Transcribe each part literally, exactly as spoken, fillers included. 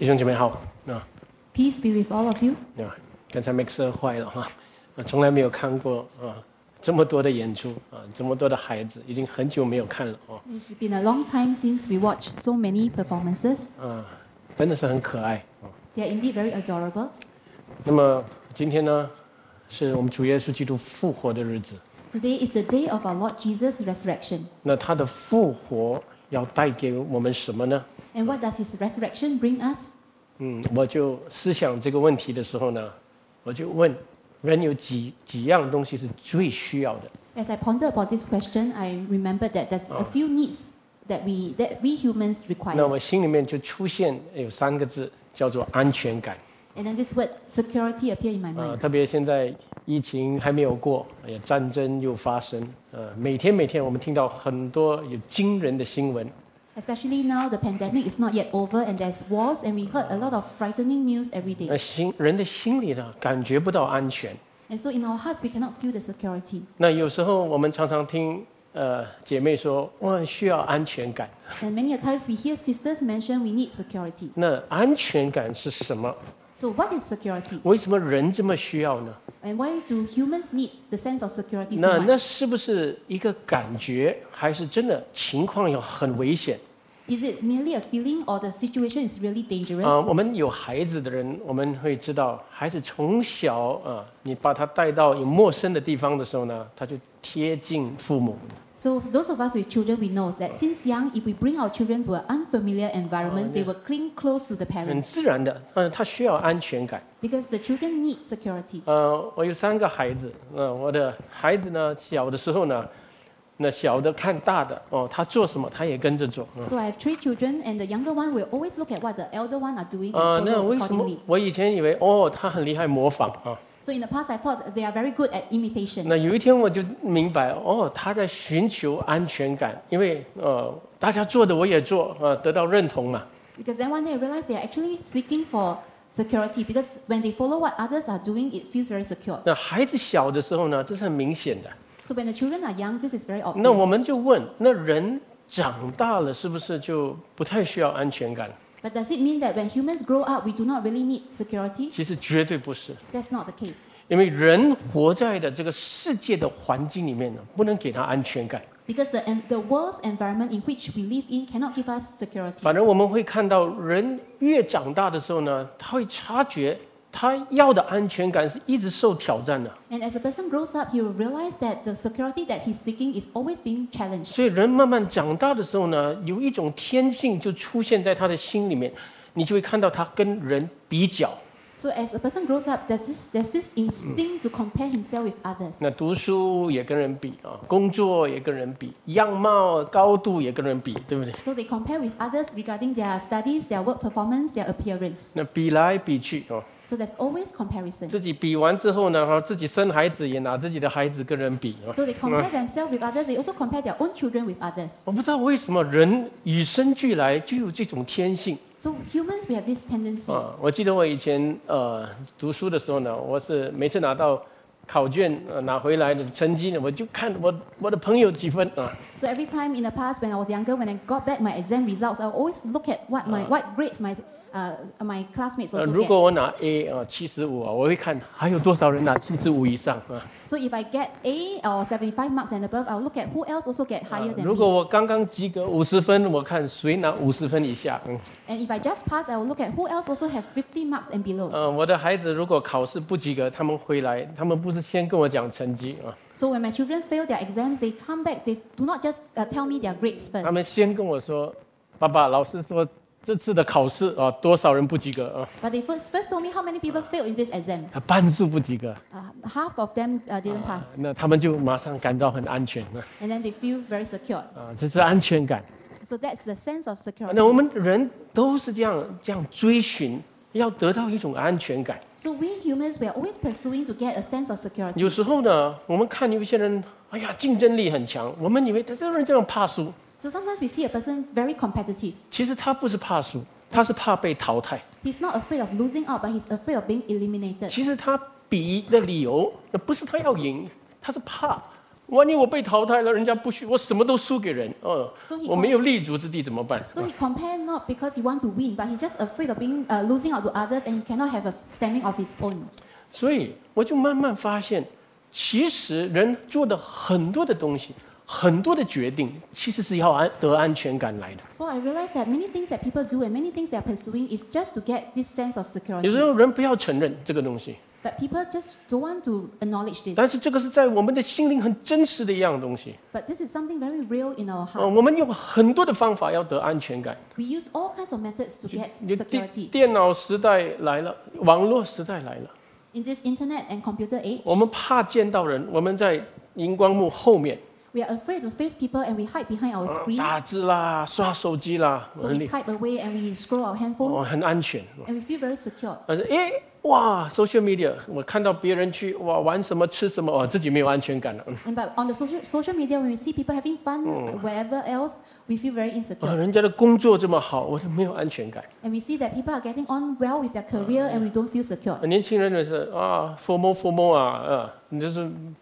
弟兄姐妹好，那 Peace be with all of you. 那刚才 mixer 坏了哈，啊，从来没有看过啊这么多的演出啊，这么多的孩子，已经很久没有看了哦。 It's been a long time since we watched so many performances. 啊，真的是很可爱哦。 They are indeed very adorable. 那么今天呢，是我们主耶稣基督复活的日子。 Today is the day of our Lord Jesus' resurrection. 那他的复活要带给我们什么呢？ And what does his resurrection bring us? 嗯，我就思想这个问题的时候呢，我就问，人有几几样东西是最需要的？ As I ponder about this question, I remembered that there's a few needs that we that we humans 那 require. 我心里面就出现有三个字，叫做安全感。 And then this word security appeared in my 啊， mind. 特别现在疫情还没有过，哎呀，战争又发生，呃，每天每天我们听到很多有惊人的新闻。 Especially now, the pandemic is not yet over and there's wars, and we heard a lot of frightening news every 那 day. 心人的心里呢，感觉不到安全。 And so in our hearts, we cannot feel the security. 那有时候我们常常听呃姐妹说，我很需要安全感。 And many a times we hear sisters mention we need security. 那安全感是什么？ So what is security? 为什么人这么需要呢？ And why do humans need the sense of security 那 so 那 much? 是不是一个感觉，还是真的情况要很危险？ Is it merely a feeling or the situation is really 啊、 dangerous? 我们有孩子的人，我们会知道，孩子从小啊、你把他带到有陌生的地方的时候呢，他就贴近父母。 So those of us with children, we know that since young, if we bring our children to an unfamiliar environment, they will cling close to the 很 parents 自然的，嗯、他需要安全感。 because the children need security. 呃，我有三个孩子，嗯、我的孩子呢，小的时候呢，那小的看大的，哦，他做什么他也跟着做。嗯 So I have three children, and the younger one will always look at what the elder one are doing 啊、 and 那 follow 为什么 accordingly. 我以前以为哦，他很厉害模仿啊？ So in the past, I thought they are very good at imitation. 那有一天我就明白，哦，他在寻求安全感，因为呃，大家做的我也做，啊、得到认同嘛。 Because then one day I realized they are actually seeking for security because when they follow what others are doing, it feels very secure. 那孩子小的时候呢，这是很明显的。 So when the children are young, this is very 那我 obvious. 们就问，那人长大了是不是就不太需要安全感？ But does it mean that when humans grow up, we do not really need security? 其实绝对不是。 That's not the case. 因为人活在的这个世界的环境里面呢，不能给他安全感。 Because the, en- the world's environment in which we live in cannot give us security. 反正我们会看到，人越长大的时候呢，他会察觉他要的安全感是一直受挑战的。 And as a person grows up, he will realize that the security that he's seeking is always being challenged. 所以人慢慢长大的时候呢，有一种天性就出现在他的心里面，你就会看到他跟人比较。 So as a person grows up, there's this, there's this instinct to compare himself with others. 那读书也跟人比啊，工作也跟人比，样貌高度也跟人比，对不对？ So they compare with others regarding their studies, their work performance, their appearance. 那比来比去哦， So there's always comparison. 自己比完之后呢，然后自己生孩子也拿自己的孩子跟人比啊。 So they compare themselves with others. They also compare their own children with others. 我不知道为什么人与生俱来就有这种天性 So humans, we have this tendency. 啊！我记得我以前呃读书的时候呢，我是每次拿到考卷呃拿回来的成绩呢，我就看我我的朋友几分啊。 So every time in the past, when I was younger, when I got back my exam results, I always look at what my what grades my uh, my classmates 呃， also 如 get. 果我拿 A 啊七十五啊，我会看还有多少人拿七十五以上啊。 So if I get A or seventy-five marks and above, I'll look at who else also get 啊 higher than 如果 me. 我刚刚及格五十分，我看谁拿五十分以下。嗯， And if I just pass, I will look at who else also have fifty marks and below. 呃，我的孩子如果考试不及格，他们回来，他们不是先跟我讲成绩啊， So when my children fail their exams, they come back. They do not just uh, tell me their grades 他 first. 们先跟我说，爸爸，老师说这次的考试啊，多少人不及格啊？ But they first, first told me how many people failed in this exam. 啊半数不及格， Uh, half of them uh, didn't pass. 那他们就马上感到很安全了 And then they feel very secure. 啊，这是安全感。 So that's the sense of security. 那我们人都是这样这样追寻，要得到一种安全感。 So we humans, we are always pursuing to get a sense of security. 有时候呢，我们看有一些人，哎呀，竞争力很强，我们以为他这个人这样怕输， So sometimes we see a person very competitive. 其实他不是怕输，他是怕被淘汰。 He's not afraid of losing out, but he's afraid of being eliminated. 其实他比的理由，不是他要赢，他是怕万一我被淘汰了，人家不许我什么都输给人，哦 So he 我没有立足之地怎么办？ So he compared not because he want to win, but he's just afraid of being uh, losing out to others, and he cannot have a standing of his own. 所以我就慢慢发现，其实人做的很多的东西，很多的决定，其实是要安得安全感来的。 So I realized that many things that people do and many things they are pursuing is just to get this sense of 有时 security. 候人不要承认这个东西， But people just don't want to acknowledge this. 但是这个是在我们的心灵很真实的一样东西。 But this is something very real in our 呃， heart. 我们用很多的方法要得安全感。 We use all kinds of methods to get 你电 security. 电脑时代来了，网络时代来了， In this internet and computer age, 我们怕见到人，我们在荧光幕后面 we are afraid to face people and we hide behind our 呃 screen. 打字啦、刷手机啦， So 很 we 厉 type away and we scroll our 哦， handphones 很安全。 and we feel very secure. 但是诶，哇，social media，我看到别人去哇玩什么吃什么，哇，自己没有安全感了。嗯 And but on the social social media, when we see people having fun wherever else, we feel very 啊， insecure. 人家的工作这么好，我就没有安全感。 And we see that people are getting on well with their career, and we don't feel secure. 年轻人也是啊，FOMO FOMO 啊，啊，你就是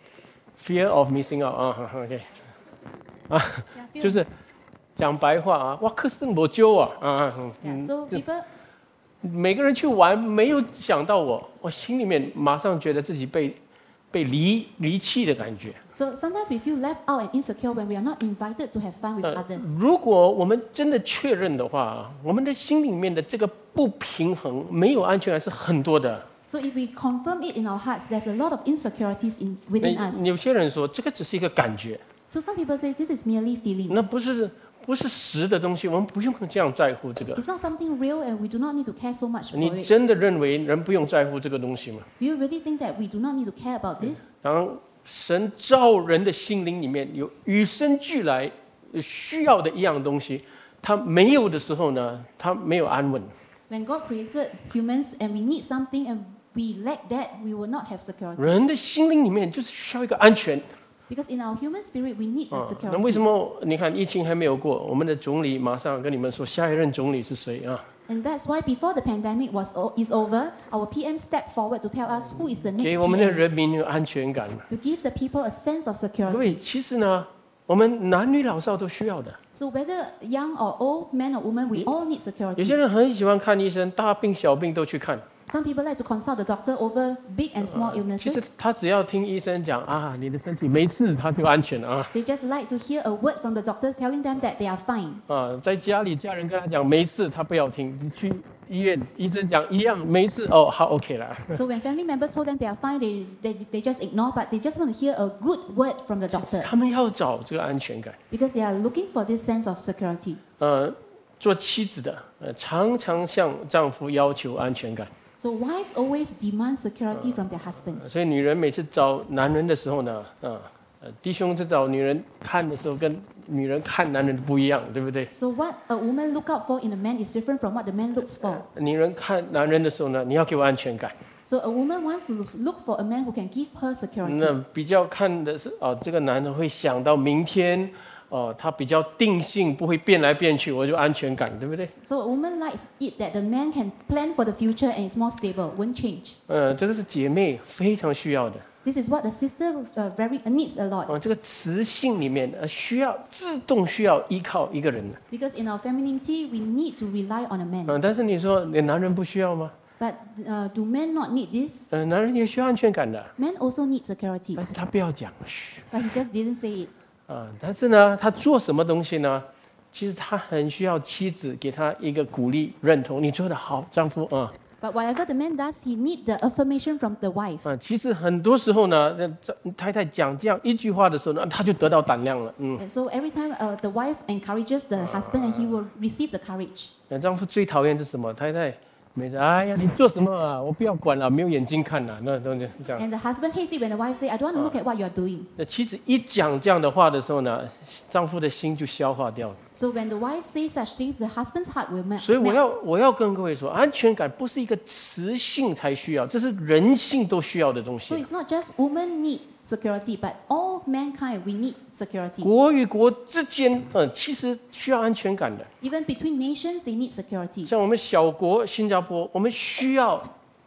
fear of missing out 啊，OK， 啊， Yeah, feel- 就是讲白话啊，哇，克胜我揪啊，啊，嗯 yeah, so people 每个人去玩，没有想到我，我心里面马上觉得自己被被离离弃的感觉。 so sometimes we feel left out and insecure when we are not invited to have fun with 呃 others. 如果我们真的确认的话，我们的心里面的这个不平衡、没有安全感是很多的。 So if we confirm it in our hearts, there's a lot of insecurities in within 那 us. 有些人说这个只是一个感觉， So some people say this is merely 那 feelings. 不是不是实的东西，我们不用这样在乎这个。 It's not something real, and we do not need to care so much for 你 it. 真的认为人不用在乎这个东西吗？ Do you really think that we do not need to care about this? 当神造人的心灵里面有与生俱来需要的一样东西，他没有的时候呢，他没有安稳。 When God created humans and we need something and we lack that, we will not have security. 人的心灵里面就是需要一个安全。 Because in our human spirit, we need 啊 the， 那为什 security. 么你看疫情还没有过，我们的总理马上跟你们说下一任总理是谁啊？ And that's why before the pandemic was o- is over, our P M stepped forward to tell us who is the next 给我们的 P M, 人民有安全感。 to give the people a sense of 各位， security. 其实呢，我们男女老少都需要的。 So whether young or old, man or woman, we all need 有些 security. 人很喜欢看医生，大病小病都去看。 Some people like to consult the doctor over big and small 其实 illnesses. 他只要听医生讲啊，你的身体没事，他就安全了啊。 They just like to hear a word from the doctor telling them that they are fine. 啊，在家里家人跟他讲没事，他不要听。你去医院，医生讲一样没事，哦，好 OK 了。 So when family members told them they are fine, they, they, they just ignore, but they just want to hear a good word from the doctor 他们要找这个安全感。 because they are looking for this sense of security. 呃，做妻子的，呃，常常向丈夫要求安全感。 So wives always demand security from their husbands. 所以女人每次找男人的时候呢，啊，呃，弟兄在找女人看的时候，跟女人看男人不一样，对不对？ So what a woman look out for in a man is different from what the man looks for. 女人看男人的时候呢，你要给我安全感。 So a woman wants to look for a man who can give her security. 那比较看的是哦，这个男人会想到明天，哦，他比较定性，不会变来变去，我就安全感，对不对？ So a woman likes it that the man can plan for the future and is more stable, won't change. 呃，这个是姐妹非常需要的。 This is what the sister uh, very uh, needs a lot. 哦，这个雌性里面呃需要自动需要依靠一个人的。 Because in our femininity, we need to rely on a man. 嗯、但是你说你男人不需要吗？ But uh, do men not need this? 呃，男人也需要安全感的， Men also need security. 但是他不要讲，嘘。 But he just didn't say it. 啊，但是呢，他做什么东西呢？其实他很需要妻子给他一个鼓励、认同。你做得好，丈夫啊。 But whatever the man does, he need the affirmation from the wife. 啊，其实很多时候呢，那这太太讲这样一句话的时候呢，他就得到胆量了。嗯， And so every time uh, the wife encourages the husband, and he will receive the courage. 那丈夫最讨厌是什么？太太每次哎呀，你做什么啊？我不要管了，没有眼睛看了，那都这样。 And the husband hates it when the wife say, "I don't want to look at what you are doing." 那妻子一讲这样的话的时候呢，丈夫的心就消化掉了。 So when the wife says such things, the husband's heart will melt. 所以我要我要跟各位说，安全感不是一个雌性才需要，这是人性都需要的东 So 西。 it's not just women need security, but all mankind we need security. 国与国之间，嗯，其实需要安全感的。 Even between nations, they need security. 像我们小国新加坡，我们需要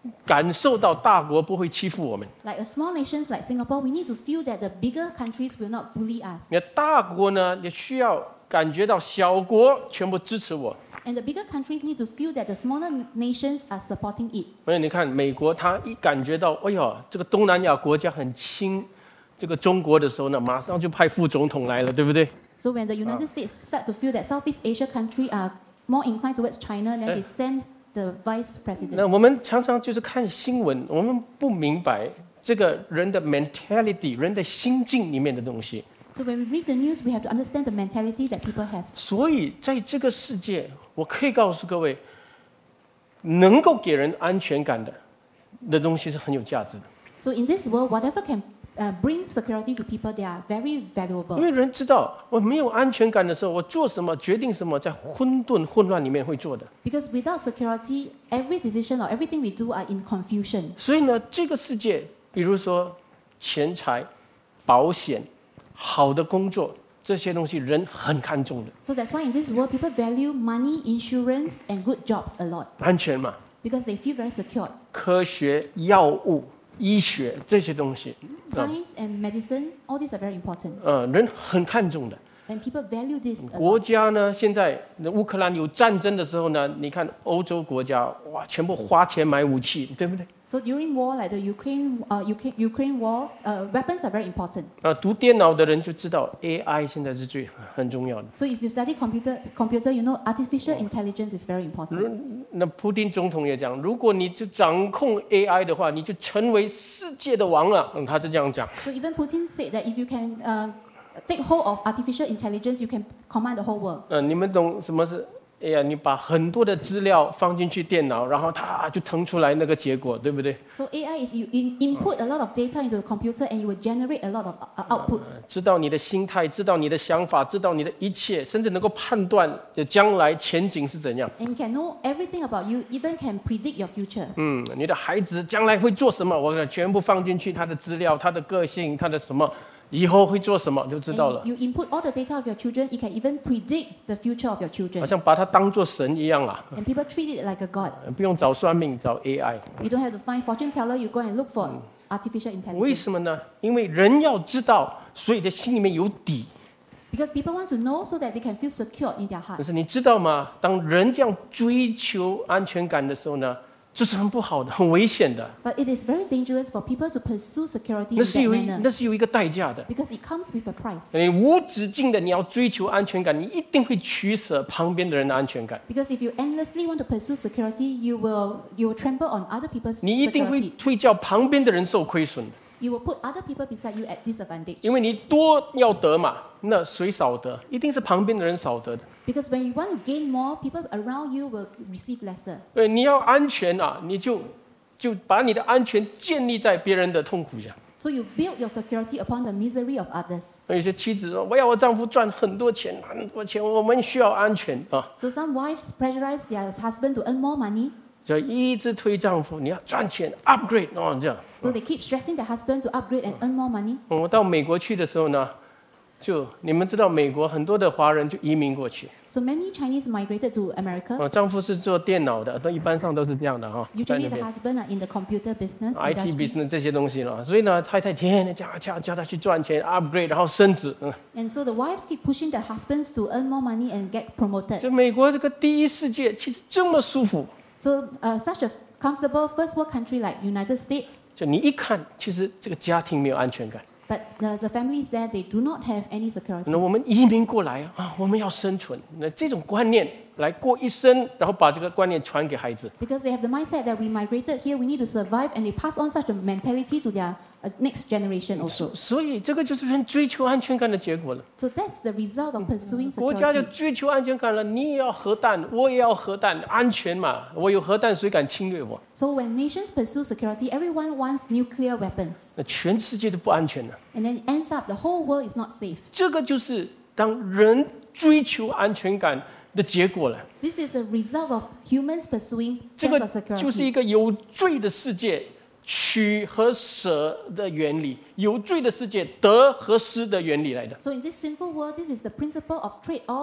感受到大国不会欺负我们。 Like a small nations like Singapore, we need to feel that the bigger countries will not bully us. 你看大国呢，也需要感觉到小国全部支持我。 And the bigger countries need to feel that the smaller nations are supporting it. 所以你看，美国他一感觉到，哎呦，这个东南亚国家很亲这个中国的时候呢，马上就派副总统来了，对不对？ So when the United States start to feel that Southeast Asia countries are more inclined towards China, then they send the vice 那 president. 我们常常就是看新闻，我们不明白这个人的 mentality， 人的心境里面的东西。 So when we read the news, we have to understand the mentality that people have. 所以在这个世界，我可以告诉各位，能够给人安全感的的东西是很有价值的。 So in this world, whatever can uh, bring security to people, they are very 因 valuable. 为人知道，我没有安全感的时候，我做什么、决定什么，在混沌、混乱里面会做的。 Because without security, every decision or everything we do are in confusion. 所以呢，这个世界，比如说钱财、保险、好的工作这些东西，人很看重的。 So that's why in this world, people value money, insurance, and good jobs a lot 安全嘛， because they feel very secured. 科学、药物、医学这些东西，啊， Science and medicine, all these are very important. 呃，人很看重的。 And people value this a 国 lot. 家呢，现在乌克兰有战争的时候呢，你看欧洲国家哇，全部花钱买武器，对不对？ So during war, like the Ukraine, uh, Ukraine, Ukraine war, uh, weapons are very important. 啊，读电脑的人就知道 A I 现在是最很重要的。 So if you study computer, computer, you know artificial intelligence is very important. 那普丁总统也讲，如果你就掌控 A I 的话，你就成为世界的王了。嗯，他是这样讲。 So even Putin said that if you can uh, take hold of artificial intelligence, you can command the whole world. 呃，你们懂什么是？哎呀，你把很多的资料放进去电脑，然后它就腾出来那个结果，对不对？ So A I is you in, input a lot of data into the computer and you will generate a lot of uh, outputs. 知道你的心态，知道你的想法，知道你的一切，甚至能够判断将来前景是怎样。 And it can know everything about you, even can predict your future. 嗯，你的孩子将来会做什么，我全部放进去他的资料、他的个性、他的什么，以后会做什么就知道了。 And you input all the data of your children, it can even predict the future of your 好 children. 像把它当做神一样啊， And people treat it like a god. 不用找算命，找 A I。 You don't have to find fortune teller, you go and look for artificial 为 intelligence. 什么呢？因为人要知道，所以在心里面有底。 Because people want to know so that they can feel secure in their 但 heart. 是你知道吗？当人这样追求安全感的时候呢，这是很不好的，很危险的。 But it is very dangerous for people to pursue security 那 in 是 that 有一 manner. 那是有一个代价的。 Because it comes with a price. 你无止境的你要追求安全感，你一定会取舍旁边的人的安全感。 Because if you endlessly want to pursue security, you will you will trample on other people's 你一定会 security. 会叫旁边的人受亏损的， You will put other people beside you at disadvantage. 因为你多要得嘛，那谁少得？一定是旁边的人少得的。 Because when you want to gain more, people around you will receive lesser. 对，你要安全啊，你就就把你的安全建立在别人的痛苦下。 So you build your security upon the misery of others. 有些妻子说：“我要我丈夫赚很多钱，很多钱，我们需要安全啊！” So some wives pressurize their husband to earn more money. 就一直推丈夫，你要赚钱 ，upgrade 哦，这样。 So they keep stressing their husband to upgrade and earn more money. 我到美国去的时候呢，就你们知道，美国很多的华人就移民过去。 So many Chinese migrated to America. 我丈夫是做电脑的，都一般上都是这样的哈，在 Usually 那 the 边 husband are in the computer business I T industry. business 这些东西了。所以呢，太太天天叫叫叫他去赚钱，upgrade， 然后升职。嗯， And so the wives keep pushing their husbands to earn more money and get promoted. 就美国这个第一世界其实这么舒服， So uh, such a comfortable first world country like United States, 就你一看，其实这个家庭没有安全感。 but the, the families there, they do not have any 那 security. 我们移民过来啊，我们要生存，那这种观念来过一生，然后把这个观念传给孩子。 Because they have the mindset that we migrated here, we need to survive, and they pass on such a mentality to their uh, next generation 所 also. 所以这个就是人追求安全感的结果了。 So that's the result of pursuing 国家就 security. 追求安全感了，你也要核弹，我也要核弹，安全嘛，我有核弹，谁敢侵略我？ So when nations pursue security, everyone wants nuclear weapons. 那全世界都不安全了。 And then it ends up the whole world is not safe. 这个就是当人追求安全感的结果了。 This is the result of humans pursuing 这 sense 个 of 就是一 security. 个有罪的世界取和舍的原理，有罪的世界得和失的原理来的。 So in this sinful world, this is the principle of trade-offs,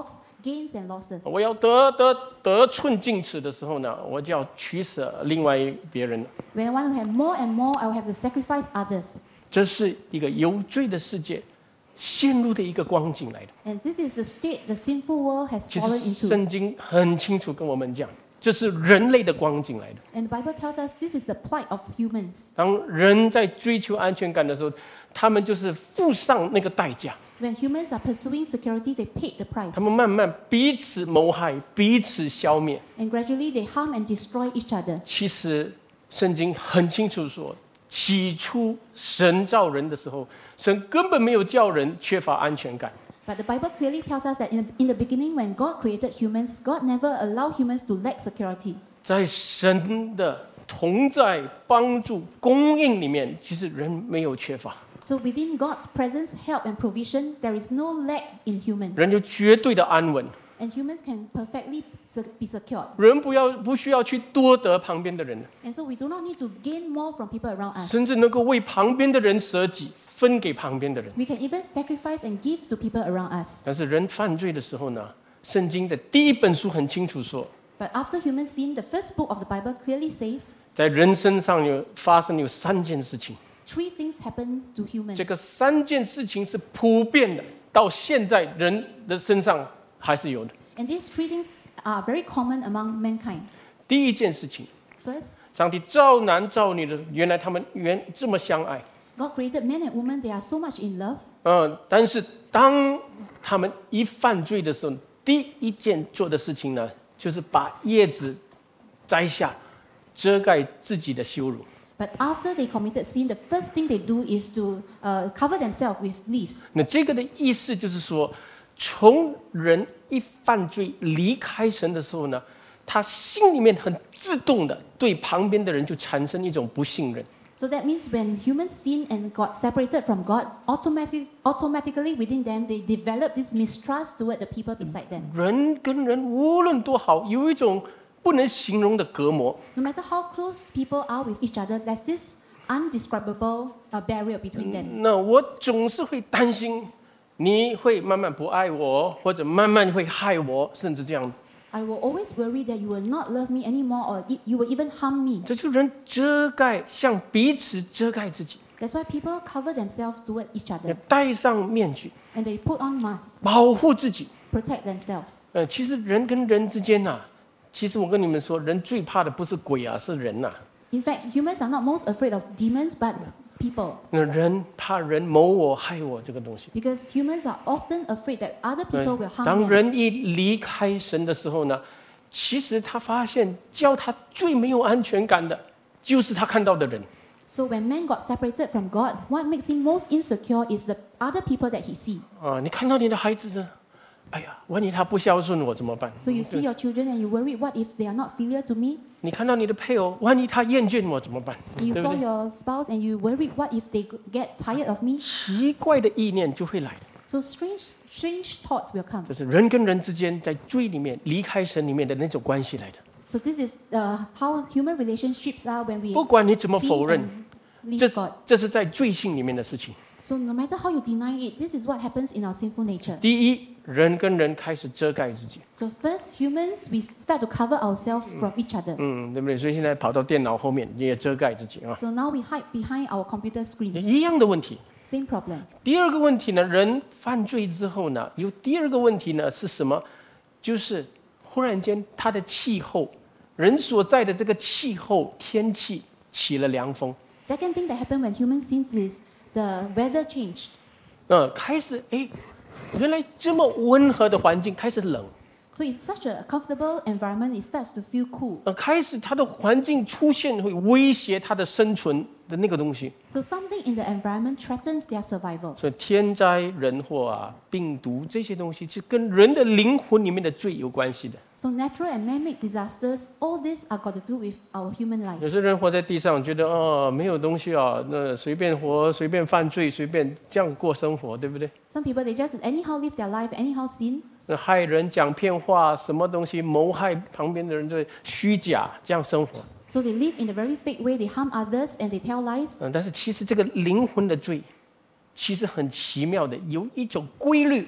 gains and losses. 我要得得得寸进尺的时候呢，我就要取舍另外别人。 When I want to have more and more, I will have to sacrifice others. 这是一个有罪的世界陷入的一个光景来的。 And this is the state the sinful world has 其 fallen 实 into. 圣经很清楚跟我们讲，这是人类的光景来的。 And the Bible tells us this is the plight of humans. 当人在追求安全感的时候，他们就是付上那个代价， When humans are pursuing security, they paid the price. 他们慢慢彼此谋害，彼此消灭。 And gradually they harm and destroy each other. 其实圣经很清楚说，起初神造人的时候，神根本没有叫人缺乏安全感。 But the Bible clearly tells us that in the, in the beginning, when God created humans, God never allowed humans to lack security. 在神的同在、帮助、供应里面，其实人没有缺乏， So within God's presence, help and provision, there is no lack in humans. 人有绝对的安稳。 And humans can perfectly se- be secured. 人不要不需要去多得旁边的人， And so we do not need to gain more from people around us. 甚至能够为旁边的人舍己，分给旁边的人。 We can even sacrifice and give to people around us. 但是人犯罪的时候呢，圣经的第一本书很清楚说， But after human sin, the first book of the Bible clearly says 在人身上有发生有三件事情， three things happen to humans. 这个三件事情是普遍的，到现在人的身上还是有的。 And these three things are very common among mankind. 第一件事情， First, 上帝造男造女的，原来他们原这么相爱， God created men and women, they are so much in love. 嗯，但是当他们一犯罪的时候，第一件做的事情呢，就是把叶子摘下，遮盖自己的羞辱。 But after they committed sin, the first thing they do is to uh, cover themselves with leaves. 那这个的意思就是说，从人一犯罪离开神的时候呢，他心里面很自动的对旁边的人就产生一种不信任。 So that means when humans sin and got separated from God, automatically, automatically within them, they develop this mistrust toward the people beside them. 人跟人无论多好，有一种不能形容的隔膜。 No matter how close people are with each other, there's this undescribable uh, barrier between them. 那我总是会担心，你会慢慢不爱我，或者慢慢会害我，甚至这样。 I will always worry that you will not love me anymore or e- you will even harm me. 这就人遮盖，向彼此遮盖自己， That's why people cover themselves toward each 要 other 戴上面具， and they put on masks, 保护自己。 protect themselves. 呃，其实人跟人之间呐、啊，其实我跟你们说，人最怕的不是鬼啊，是人呐、啊。 In fact, humans are not most afraid of demons but people. 那人怕人谋我害我这个东西。 Because humans are often afraid that other people will harm 当 them. 人一离开神的时候呢，其实他发现叫他最没有安全感的，就是他看到的人。 So when man got separated from God, what makes him most insecure is the other people that he sees. 啊，你看到你的孩子呢？哎呀，万一他不孝顺我怎么办？ So you see your children and you worry, what if they are not filial to me? 你看到你的配偶，万一他厌倦我怎么办？ And you 对不 saw 对？ your spouse and you worry, what if they get tired of me? 奇怪的意念就会来的， So strange, strange thoughts will come. 这是人跟人之间在罪里面离开神里面的那种关系来的。 So this is uh, how human relationships are when we 不管你怎么 sin 否认， and 这 leave 是 God. 这是在罪性里面的事情。 So no matter how you deny it, this is what happens in our sinful nature. 第一，人跟人开始遮盖自己， So first, humans, we start to cover ourselves from each other. 嗯，对不对？所以现在跑到电脑后面，你也遮盖自己啊， So now we hide behind our computer screens. 一样的问题。 Same problem. 第二个问题呢，人犯罪之后呢，有第二个问题呢是什么？就是忽然间他的气候，人所在的这个气候天气起了凉风， Second thing that happened when humans sin is the weather changed. 呃，开始哎，原来这么温和的环境开始冷， So it's such a comfortable environment, it starts to feel cool. 呃，开始它的环境出现会威胁它的生存的那个东西， So something in the environment threatens their survival. 所以天灾人祸啊、病毒这些东西是跟人的灵魂里面的罪有关系的。 So natural and man-made disasters, all these are got to do with our human life. 有些人活在地上，觉得哦没有东西啊，那随便活、随便犯罪、随便这样过生活，对不对？ Some people, they just anyhow live their life, anyhow sin. 那害人、讲骗话，什么东西谋害旁边的人，对虚假这样生活。 So they live in a very fake way, they harm others and they tell lies. 嗯，但是其实这个灵魂的罪，其实很奇妙的，有一种规律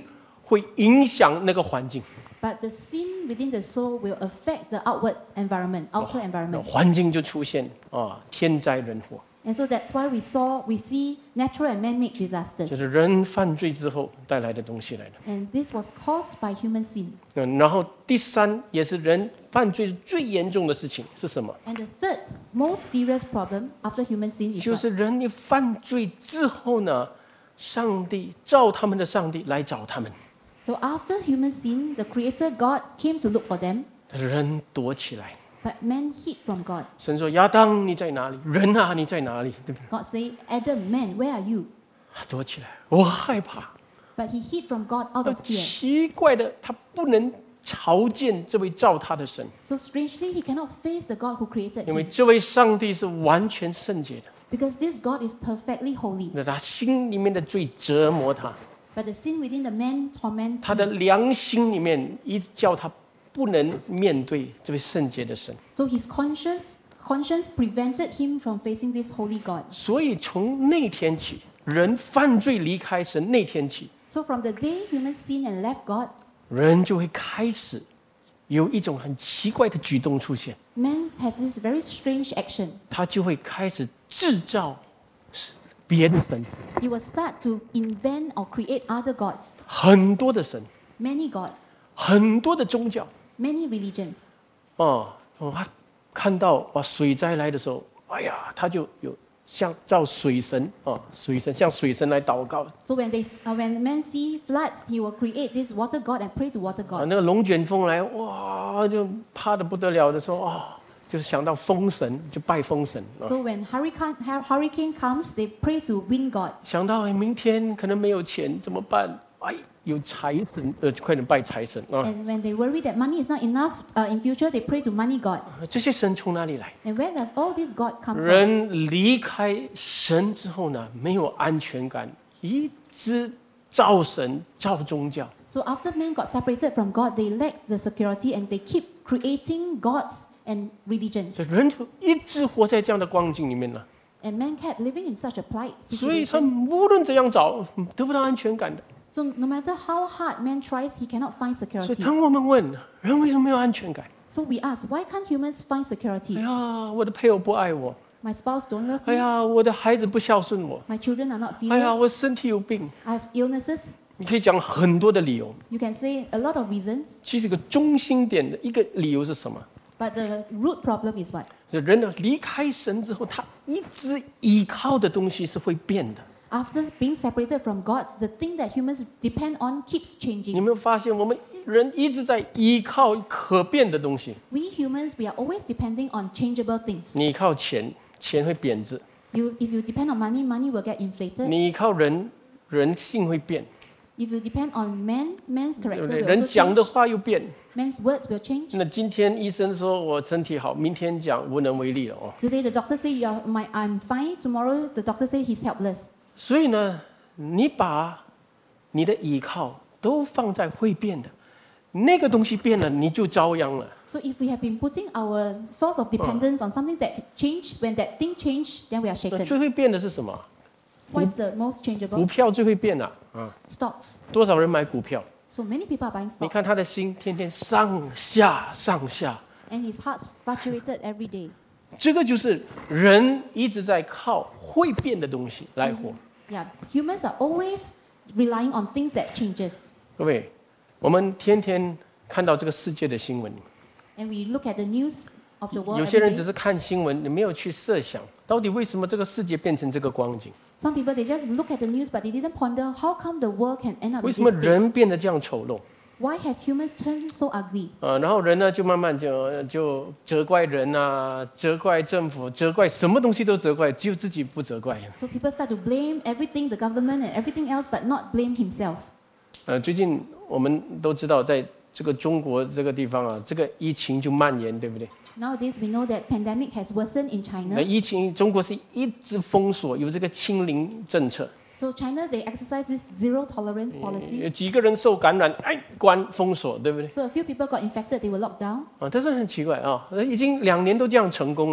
会影响那个环境， But the sin within the soul will affect the outward environment, outer 那 environment. 环境就出现啊天灾人祸， And so that's why we saw, we see natural and man-made 就 disasters. 是人犯罪之后带来的东西来的。 And this was caused by human sin. 嗯，然后第三也是人犯罪最严重的事情是什么？ And the third most serious problem after human sin is 就 what? 是人一犯罪之后呢，上帝照他们的上帝来找他们， So after human sin, the Creator God came to look for them, 但是人躲起来。 but man hid from God. 神说：“亚当，你在哪里？人啊，你在哪里？”对不对？ God said, Adam, man, where are you? 他躲起来，我害怕。 But he hid from God out 那 of fear. 奇怪的，他不能朝见这位造他的神， So strangely, he cannot face the God who created 因为 him 这位上帝是完全圣洁的。 because this God is perfectly holy. 那他心里面的罪折磨他， But the sin within the man torments 他的 him. 良心里面一直叫他不能面对这位圣洁的神。 So his conscience, conscience prevented him from facing this holy God. 所以从那天起，人犯罪离开神那天起， So from the day human sinned and left God, 人就会开始有一种很奇怪的举动出现， man has this very strange action. 他就会开始制造别的神， He will start to invent or create other gods, 很多的神， many gods, 很多的宗教。 many religions. 哦，哦他看到哇水灾来的时候，哎呀，他就有像造水神哦，水神向水神来祷告。 So when they, uh, when man see floods, he will create this water god and pray to water 啊， god. 那个龙卷风来，哇，就怕的不得了的时候，哦，就是想到风神，就拜风神。啊 So when hurricane hur- hurricane comes, they pray to wind god. 想到哎明天可能没有钱怎么办？哎，有财神，呃，快点拜财神啊！ And when they worry that money is not enough uh, in future, they pray to money god. 这些神从哪里来？ And where does all this god come from? 人离开神之后呢，没有安全感，一直造神、造宗教。 So after man got separated from God, they lack the security and they keep creating gods and religions. 所以人就一直活在这样的光景里面呢。 And man kept living in such a plight 所以他 situation. 无论怎样找，得不到安全感的。 So no matter how hard man tries, he cannot find 所以 security. 当我们问人为什么没有安全感？ So we ask, why can't humans find 哎 security? 呀，我的配偶不爱我。 My spouse don't love 哎 me. 呀，我的孩子不孝顺我。 My children are not 哎呀， filial. 我身体有病。 I have illnesses. 你可以讲很多的理由。 You can say a lot of reasons. 其实一个中心点的一个理由是什么？ But the root problem is what? 就人呢离开神之后，他一直依靠的东西是会变的。 After being separated from God, the thing that humans depend on keeps 你 changing. 有没有发现，我们人一直在依靠可变的东西？ We humans, we are always depending on changeable things. 你依靠钱，钱会贬值； You, if you depend on money, money will get inflated. 你依靠人，人性会变， If you depend on man, man's 对 character 不对？ will 人 also 讲的 change. 话又变。 Man's words will change. 那今天医生说我身体好，明天讲无能为力了哦。 Today the doctor say you are, my, I'm fine. Tomorrow the doctor say he's helpless. 所以呢，你把你的依靠都放在会变的，那个东西变了，你就遭殃了。 So if we have been putting our source of dependence on something that change, when that thing change, then we are 那 shaken. 最会变的是什么？ What is the most 股 changeable? 票最会变啊！啊， Stocks. 多少人买股票？ So many people are buying 你 stocks. 看他的心天天上下上下， And his heart fluctuated every day. 这个就是人一直在靠会变的东西来活。 Yeah, humans are always relying on things that changes. 各位，我们天天看到这个世界的新闻， And we look at the news of the world 有些 every 人只 day. 是看新闻，你没有去设想到底为什么这个世界变成这个光景， Some people, they just look at the news, but they didn't ponder how come the world can end up 为 in 什么 this state. 人变得这样丑陋？ Why has humans turned so ugly? 啊，然后人呢就慢慢就就责怪人啊，责怪政府，责怪什么东西都责怪，只有自己不责怪。 So people start to blame everything, the government and everything else, but not blame himself. 呃，最近我们都知道，在这个中国这个地方啊，这个疫情就蔓延，对不对？ Nowadays, we know that pandemic has worsened in 那 China. 疫情，中国是一直封锁，有这个清零政策， So China, they exercise this zero tolerance 有 policy. 几个人受感染，哎，关封锁，对不对？ So a few people got infected, they were locked down. 啊，但是很奇怪啊，已经两年都这样成功了，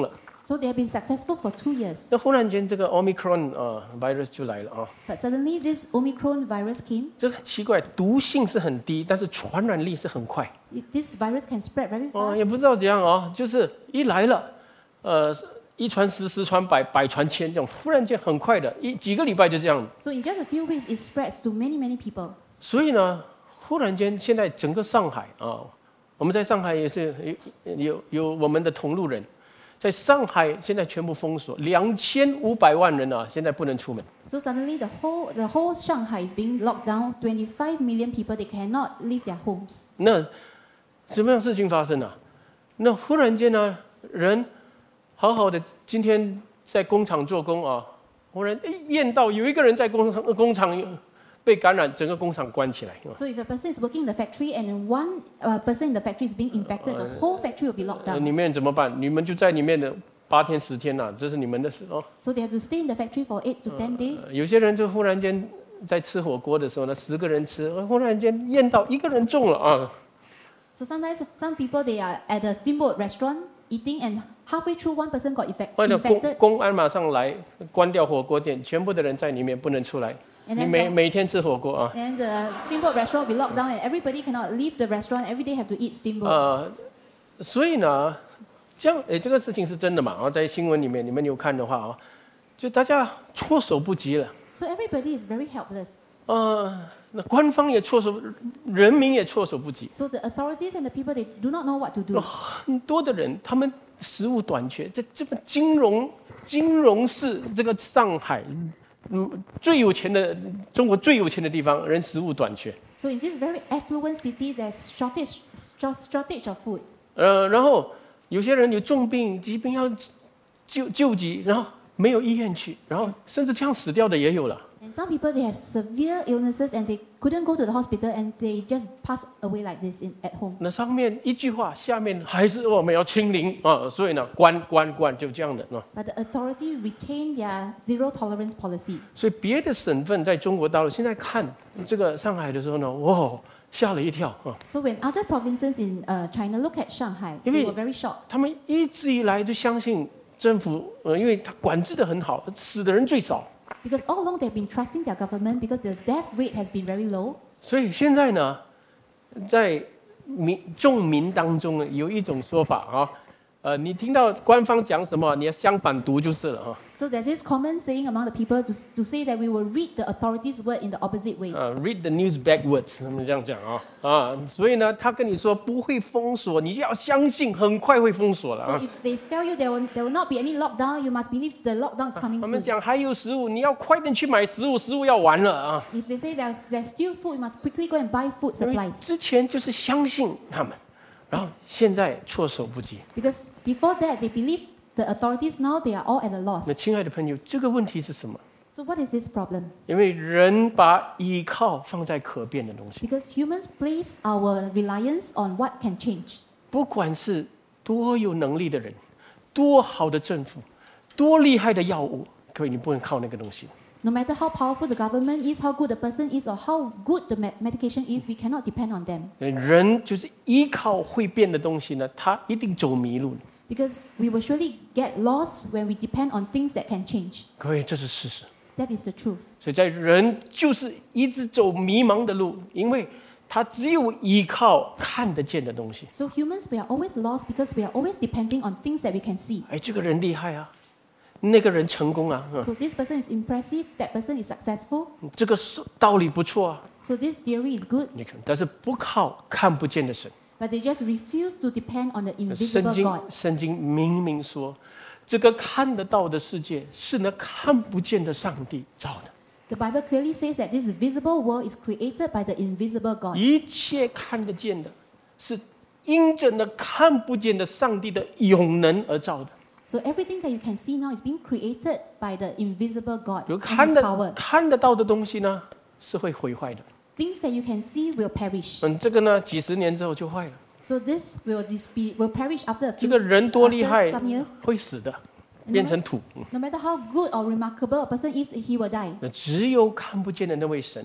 So they have been successful for two years. 那忽然间这个 Omicron 啊、呃、virus 就来了啊， But suddenly this Omicron virus came. 这个奇怪，毒性是很低，但是传染力是很快。 It- This virus can spread very 哦， fast. 也不知道怎样啊，就是一来了，呃，一传十，十传百，百传千，这种忽然间很快的，一几个礼拜就这样。 So in just a few weeks, it spreads to many, many people. 所以呢，忽然间现在整个上海啊，我们在上海也是有有有我们的同路人，在上海现在全部封锁，两千五百万人啊，现在不能出门。 So suddenly the whole, the whole Shanghai is being locked down. twenty-five million people, they cannot leave their homes. 那什么样的事情发生啊？那忽然间呢，人好好的今天在工厂做工啊，忽然哎验到有一个人在工厂工厂被感染，整个工厂关起来。 So if a person is working in the factory and one uh, person in the factory is being infected, the whole factory will be locked 呃， down. 里面怎么办？你们就在里面的八天十天呐、啊，这是你们的事哦。 So they have to stay in the factory for eight to ten days. 呃有些人就忽然间在吃火锅的时候呢，十个人吃，呃忽然间验到一个人中了啊。 So sometimes some people, they are at a steamboat restaurant eating and halfway through one person got effect, 或者公 infected. 公安马上来关掉火锅店，全部的人在里面不能出来。 And 你 then 每 the, 每天吃火锅啊。 then the steamboat restaurant will be locked down and everybody cannot leave the restaurant. Every day have to eat steamboat. 呃，所以呢，这样诶，这个事情是真的嘛？啊，在新闻里面你们有看的话啊，就大家措手不及了。 So everybody is very helpless. 呃，那官方也措手，人民也措手不及。 So the authorities and the people, they do not know what to do. 很多的人他们食物短缺，在这个金融金融市这个上海，嗯，最有钱的中国最有钱的地方，人食物短缺。 So in this very affluent city, there's shortage, short- shortage of food. 呃，然后有些人有重病、疾病要救救急，然后没有医院去，然后甚至这样死掉的也有了。 And some people, they have severe illnesses and they couldn't go to the hospital and they just pass away like this in, at home. 那上面一句话，下面还是我们要清零啊，所以呢，关关关就这样的啊。 But the authority retain their zero tolerance policy. 所以别的省份在中国大陆现在看这个上海的时候呢，哇，吓了一跳啊！ So when other provinces in uh, China look at Shanghai, they 因为- were very shocked 他们一直以来就相信政府，呃，因为他管制的很好，死的人最少。 because all along they've been trusting their government because the death rate has been very low. 所以现在呢，在民众民当中呢，有一种说法啊，呃，你听到官方讲什么，你要相反读就是了啊。 So there's this common saying among the people to, to say that we will read the authorities' word in the opposite way. 呃 ，read the news backwards，他们这样讲啊啊，所以呢，他跟你说不会封锁，你就要相信，很快会封锁了 So 啊。 if they tell you there will, there will not be any lockdown, you must believe the lockdown is coming 他们 soon. 讲还有食物，你要快点去买食物，食物要完了啊。 If they say there's, there's still food, you must quickly go and buy food 因为 supplies. 之前就是相信他们，然后现在措手不及。 Because before that, they believed the authorities, now they are all at a loss. 那亲爱的朋友，这个问题是什么？ So what is this problem? 因为人把依靠放在可变的东西， Because humans place our reliance on what can change. 不管是多有能力的人，多好的政府，多厉害的药物，各位你不能靠那个东西。 No matter how powerful the government is, how good the person is, or how good the me- medication is, we cannot depend on them. 人就是依靠会变的东西呢，他一定走迷路。 Because we will surely get lost when we depend on things that can change. 各位，这是事实。 That is the truth. 所以在人就是一直走迷茫的路，因为他只有依靠看得见的东西。 So humans, we are always lost because we are always depending on things that we can see. 哎，这个人厉害啊，那个人成功啊，嗯 So this person is impressive, that person is successful. 这个是道理不错啊。 So this theory is good, 你看，但是不靠看不见的神。 but they just refuse to depend on the 圣 invisible 经 God. 圣经明明说，这个看得到的世界是那看不见的上帝造的。 The Bible clearly says that this visible world is created by the invisible God. 一切看得见的，是因着那看不见的上帝的永能而造的。 So everything that you can see now is being created by the invisible God 有 and 看 His 得 power. 看得到的东西呢，是会毁坏的。 Things that you can see will perish. 嗯，这个呢，几十年之后就坏了。 So this will this be will perish after a 这 few 个人多厉 after 害 some years.， 会死的， No 变成土。嗯 No matter how good or remarkable a person is, he will die. 那只有看不见的那位神，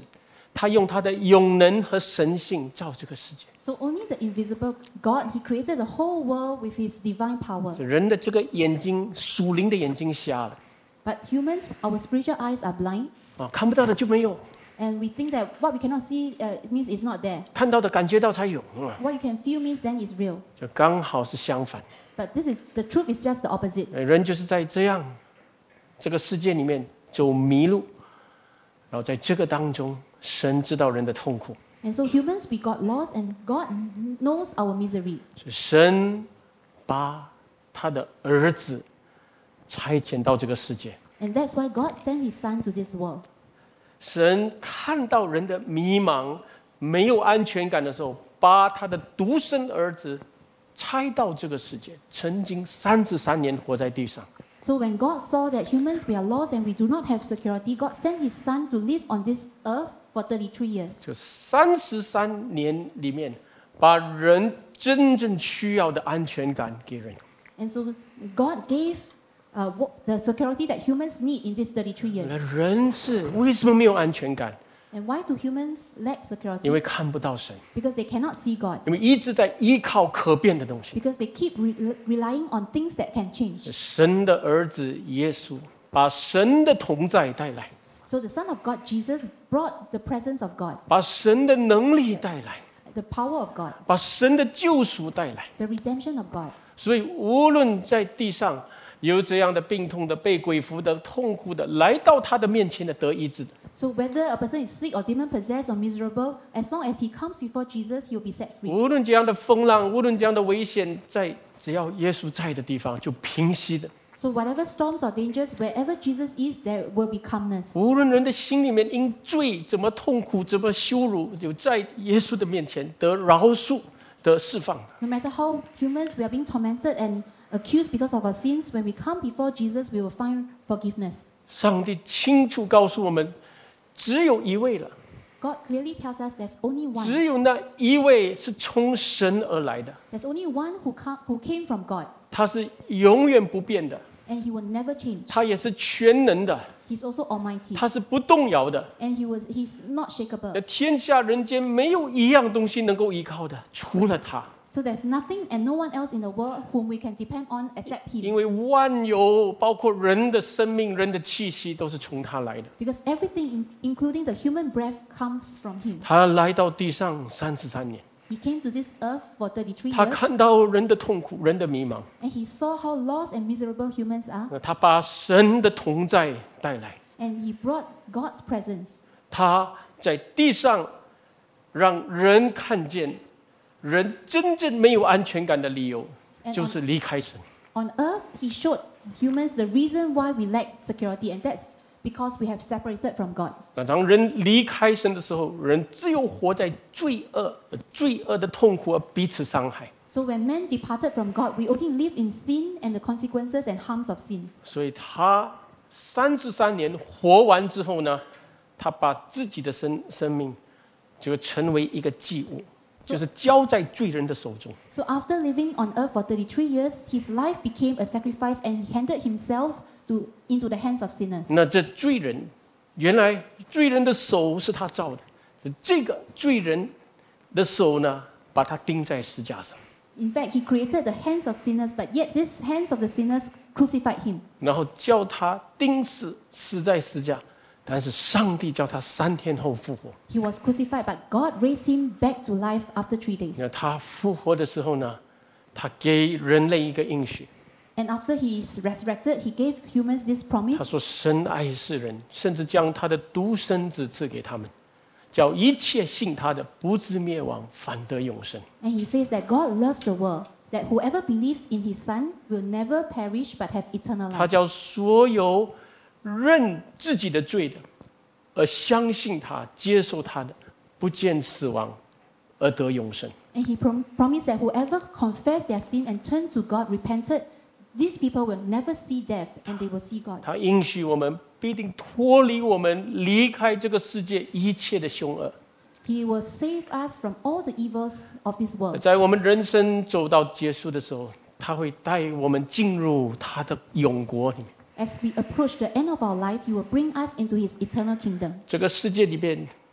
他用他的永能和神性造这个世界。 So only the invisible God, He created the whole world with His divine power. 人的这个眼睛，属灵的眼睛瞎了 But humans, our spiritual eyes are blind, 啊，看不到的就没有， and we think that what we cannot see uh, means it's not there. 看到的感觉到才有，嗯 What you can feel means then it's real. 就刚好是相反。 But this is the truth is just the opposite. 呃人就是在这样这个世界里面走迷路，然后在这个当中，神知道人的痛苦， And so humans, we got lost, and God knows our misery. 所以神把他的儿子差遣到这个世界。 And that's why God sent His Son to this world. 神看到人的迷茫、没有安全感的时候，把他的独生儿子差到这个世界，曾经三十三年活在地上。 So when God saw that humans, we are lost and we do not have security, God sent His Son to live on this earth for thirty-three years. 就三十三年里面，把人真正需要的安全感给人。 And so God gave uh, what- the security that humans need in these thirty-three years. 那人是为什么没有安全感？ And why do humans lack 因 security? 为看不到神， Because they cannot see God. 因为一直在依靠可变的东西。 Because they keep re- relying on things that can change. 神的儿子耶稣把神的同在带来， So the Son of God, Jesus, brought the presence of God, 把神的能力带来， the power of God, 把神的救赎带来。 the redemption of God. 所以，无论在地上有这样的病痛的、被鬼附的、痛苦的，来到他的面前的得医治的， So whether a person is sick or demon-possessed or miserable, as long as he comes before Jesus, he will be set free. 无论这样的风浪，无论这样的危险，在只要耶稣在的地方就平息的。 So whatever storms or dangers, wherever Jesus is, there will be calmness. 无论人的心里面因罪怎么痛苦、怎么羞辱，就在耶稣的面前得饶恕、得释放。 No matter how humans we are being tormented and accused because of our sins, when we come before Jesus, we will find forgiveness. 上帝清楚告诉我们，只有一位了， God clearly tells us there's only one. 只有那一位是从神而来的， There's only one who, come, who came from God, 他是永远不变的， and He will never change. 他也是全能的， He's also Almighty, 他是不动摇的。 and He was He's not 那 shakeable. 天下人间没有一样东西能够依靠的，除了他， So there's nothing and no one else in the world whom we can depend on except 因 Him. 为万有包括人的生命、人的气息都是从他来的。 Because everything, in, including the human breath, comes from Him. 他来到地上三十三年， He came to this earth for thirty-three 他 years, 看到人的痛苦、人的迷茫， and He saw how lost and miserable humans are, 那他把神的同在带来， and He brought God's presence. 他在地上让人看见人真正没有安全感的理由， And 就是离开神。 On earth, He showed humans the reason why we lack security, and that's because we have separated from God. 那当人离开神的时候，人只有活在罪恶、罪恶的痛苦而彼此伤害。 So when men departed from God, we only live in sin and the consequences and harms of sins. 所以他三十三年活完之后呢，他把自己的生生命就成为一个祭物，就是交在罪人的手中。 So after living on earth for thirty-three years, his life became a sacrifice, and he handed himself to, into the hands of sinners. 那这罪人，原来罪人的手是他造的，这个罪人的手呢，把他钉在石架上， In fact, he created the hands of sinners, but yet these hands of the sinners crucified him. 然后叫他钉死，死在石架。但是上帝叫他三天后复活。 He was crucified, but God raised him back to life after three days. 那他复活的时候呢，他给人类一个应许， And after he is resurrected, he gave humans this 他 promise. 说：“神爱世人，甚至将他的独生子赐给他们，叫一切信他的不至灭亡，反得永生。 And he says that God loves the world, that whoever believes in his Son will never perish but have eternal 他 life. 叫所有认自己的罪的，而相信他、接受他的，不见死亡，而得永生。 And he prom- promised that whoever confessed their sin and turned to God, repented, these people will never see death and they will see God. 他应许我们必定脱离我们，离开这个世界一切的凶恶。 He will save us from all the evils of this world. 在我们人生走到结束的时候，他会带我们进入他的永国里面。 As we approach the end of our life, he will bring us into his eternal kingdom. 这个世界里边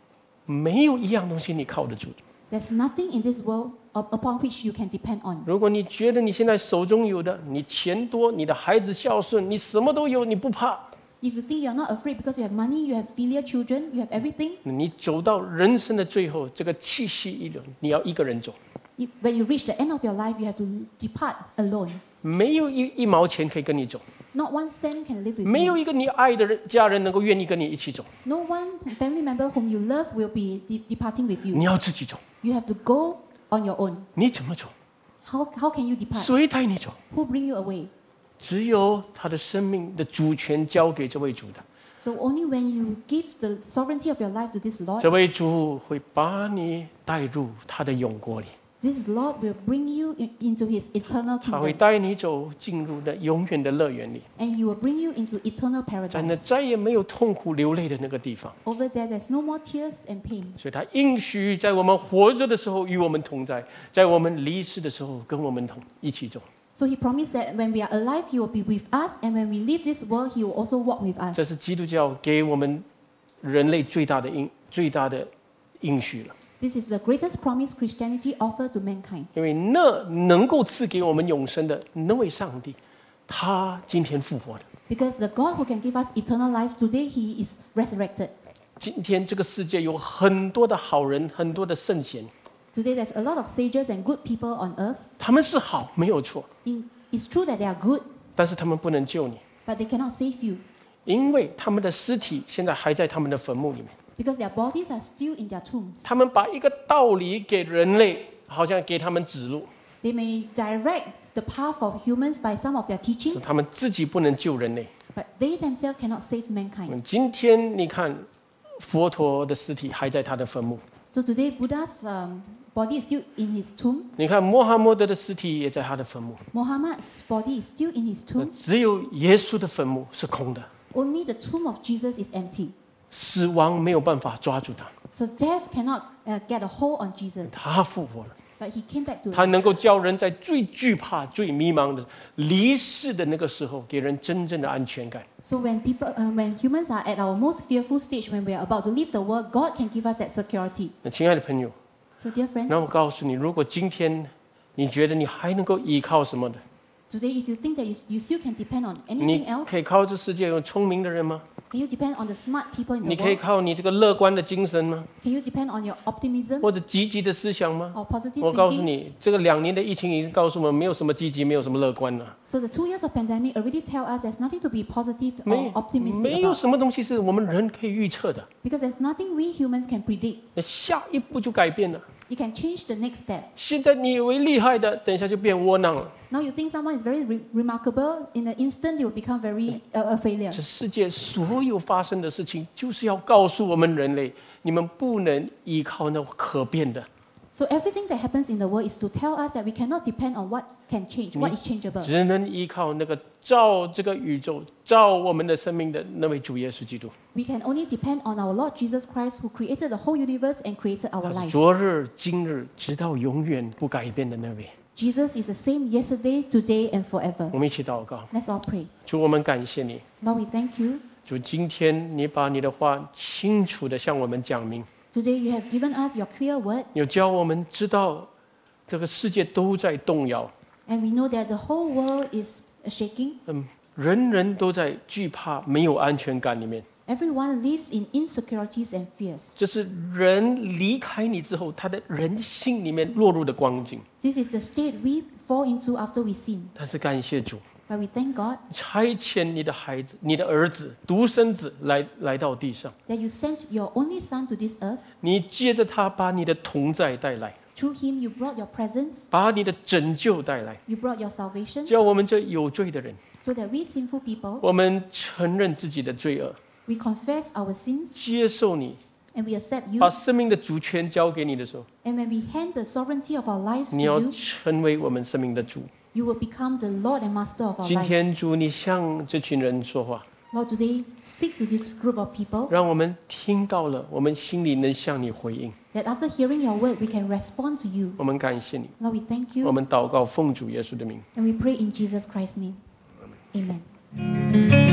没有一样东西你靠得住。 There's nothing in this world upon which you can depend on. 如果你觉得你现在手中有的，你钱多，你的孩子孝顺，你什么都有，你不怕， If you think you're not afraid because you have money, you have filial children, you have everything, 你走到人生的最后，这个气息一流，你要一个人走， if, when you reach the end of your life, you have to depart alone. 没有一一毛钱可以跟你走， Not one cent can live with 没有 you. 一个你爱的人家人能够愿意跟你一起走， No one family member whom you love will be de- departing with 你 you. 要自己走。 You have to go on your own. 你怎么走？ How, how can you depart? 谁带你走？ Who bring you away? 只有他的生命的主权交给这位主的， So only when you give the sovereignty of your life to this Lord, 这位主会把你带入他的永国里， this Lord will bring you in, into His eternal 他会 kingdom, 带你走进入那永远的乐园里， and He will bring you into eternal 在那 paradise. 再也没有痛苦流泪的那个地方。 Over there, there's no more tears and pain. 所以他应许在我们活着的时候与我们同在，在我们离世的时候跟我们同一起走。 So He promised that when we are alive, He will be with us, and when we leave this world, He will also walk with us. 这是基督教给我们人类最大的应最大的应许了， This is the greatest promise Christianity offers to mankind. 因为那能够赐给我们永生的那位上帝，他今天复活了。 Because the God who can give us eternal life, today He is resurrected. 今天这个世界有很多的好人，很多的圣贤， Today there's a lot of sages and good people on earth. 他们是好，没有错， In, it's true that they are good, 但是他们不能救你， but they cannot save you 因为他们的尸体现在还在他们的坟墓里面。 because their bodies are still in their tombs. 他们把一个道理给人类，好像给他们指路， They may direct the path of humans by some of their 是 teachings, 他们自己不能救人类。 but they themselves cannot save mankind. 嗯今天你看，佛陀的尸体还在他的坟墓， So today Buddha's um, body is still in his tomb. 你看穆罕默德的尸体也在他的坟墓， Muhammad's body is still in his 那 tomb. 只有耶稣的坟墓是空的， Only the tomb of Jesus is empty. 死亡没有办法抓住他， So death cannot uh, get a hold on Jesus. 他复活了。 But he came back to 他 life. 能够叫人在最惧怕、最迷茫的离世的那个时候，给人真正的安全感。 So when people, uh, when humans are at our most fearful stage, when we are about to leave the world, God can give us that security. 那亲爱的朋友， So dear friends, 那我告诉你，如果今天你觉得你还能够依靠什么的， today if you think that you, you still can depend on 你 anything else, 可以靠这世界有聪明的人吗？ can you depend on the smart people in 你 the 可以 world? 靠你这个乐观的精神吗？ Can you depend on your optimism 或者积极的思想吗？ or positive 我告诉 thinking? 你，这个两年的疫情已经告诉我们，没有什么积极，没有什么乐观了。 So the two years of pandemic already tell us there's nothing to be positive 没 or optimistic 没有 about 什么东西是我们人可以预测的。 because there's nothing we humans can predict. 那下一步就改变了。 You can change the next step. 现在你以为厉害的，等一下就变窝囊了。 Now you think someone is very re- remarkable, in an instant they will become very uh, a failure. 这世界所有发生的事情，就是要告诉我们人类，你们不能依靠那可变的， So everything that happens in the world is to tell us that we cannot depend on what can change, what is changeable. 只能依靠那个造这个宇宙、造我们的生命的那位主耶稣基督。 We can only depend on our Lord Jesus Christ who created the whole universe and created our 他是 life. 昨日、今日，直到永远不改变的那位。 Jesus is the same yesterday, today, and forever. 我们一起祷告， Let's all pray. 主，我们感谢你， Lord, we thank you. 主，今天你把你的话清楚的向我们讲明， Today you have given us your clear word, 有教我们知道这个世界都在动摇， and we know that the whole world is shaking. 嗯，人人都在惧怕、没有安全感里面。 Everyone lives in insecurities and fears. 这是人离开你之后，他的人性里面落入的光景。 This is the state we fall into after we sin. 但是感谢主， But we thank God 差遣你的孩子、你的儿子、独生子来来到地上， that you sent your only Son to this earth. 你借着他把你的同在带来， Through him you brought your presence, 把你的拯救带来， you brought your salvation, 叫我们这有罪的人， so that we sinful people, 我们承认自己的罪恶， we confess our sins 接受你， and we accept you. 把生命的主权交给你的时候， And when we hand the sovereignty of our lives to 你要 you, 成为我们生命的主。 you will become the Lord and Master of our 今 lives. 天主，你向这群人说话， Lord, today speak to this group of people 让我们听到了，我们心里能向你回应。 that after hearing your word, we can respond to you. 我们感谢你， Lord, we thank 我 you 们祷告奉主耶稣的名。 and we pray in Jesus Christ's name. Amen.